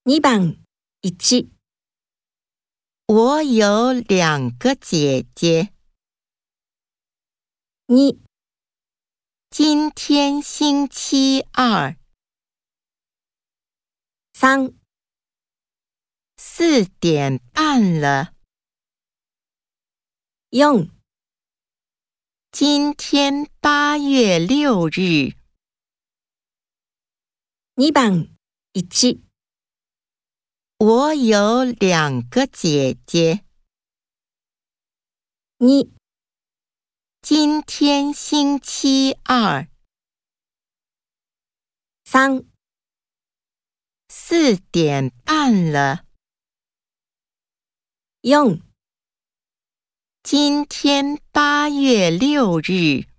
2番1、 我有2个姐姐。 2、 今天星期二。 3、 4点半了。 4、 今天8月6日。 2番1、 我有2个姐姐。 2、 今天星期二。 3、 4点半了。 4、 今天8月6日。